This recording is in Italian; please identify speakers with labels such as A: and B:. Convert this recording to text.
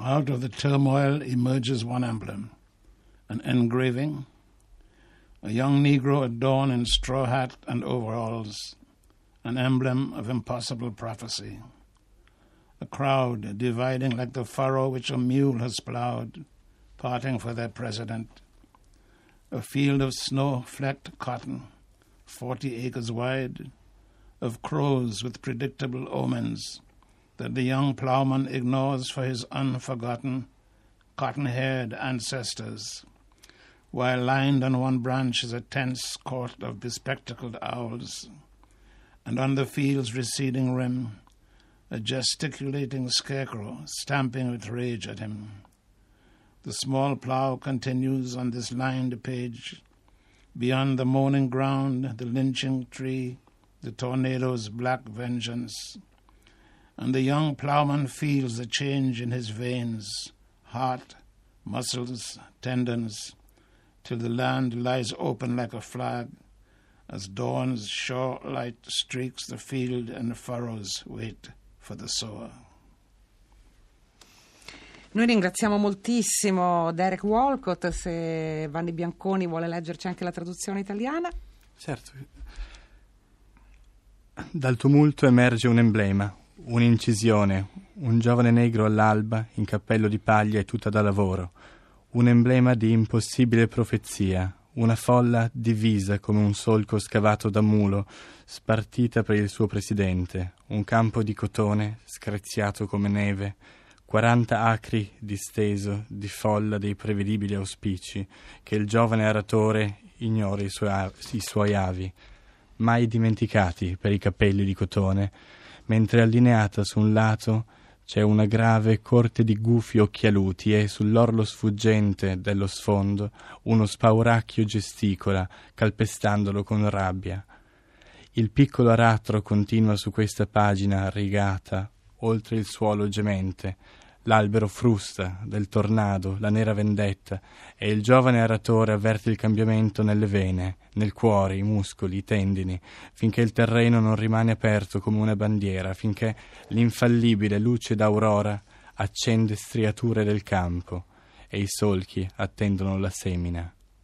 A: Out of the turmoil emerges one emblem, an engraving, a young Negro adorned in straw hat and overalls, an emblem of impossible prophecy. A crowd dividing like the furrow which a mule has plowed, parting for their president. A field of snow-flecked cotton, 40 acres wide, of crows with predictable omens that the young plowman ignores for his unforgotten, cotton-haired ancestors, while lined on one branch is a tense court of bespectacled owls, and on the field's receding rim, a gesticulating scarecrow stamping with rage at him. The small plow continues on this lined page. Beyond the moaning ground, the lynching tree, the tornado's black vengeance. And the young plowman feels the change in his veins, heart, muscles, tendons, till the land lies open like a flag, as dawn's sure light streaks the field and the furrows wait for the sower.
B: Noi ringraziamo moltissimo Derek Walcott. Se Vanni Bianconi vuole leggerci anche la traduzione italiana.
C: Certo. Dal tumulto emerge un emblema, un'incisione, un giovane negro all'alba in cappello di paglia e tuta da lavoro, un emblema di impossibile profezia, una folla divisa come un solco scavato da mulo, spartita per il suo presidente, un campo di cotone screziato come neve, 40 acri disteso di folla dei prevedibili auspici che il giovane aratore ignora i suoi avi, mai dimenticati per i capelli di cotone, mentre allineata su un lato c'è una grave corte di gufi occhialuti e sull'orlo sfuggente dello sfondo uno spauracchio gesticola, calpestandolo con rabbia. Il piccolo aratro continua su questa pagina rigata, oltre il suolo gemente. L'albero frusta del tornado, la nera vendetta, e il giovane aratore avverte il cambiamento nelle vene, nel cuore, i muscoli, i tendini, finché il terreno non rimane aperto come una bandiera, finché l'infallibile luce d'aurora accende striature del campo e i solchi attendono la semina.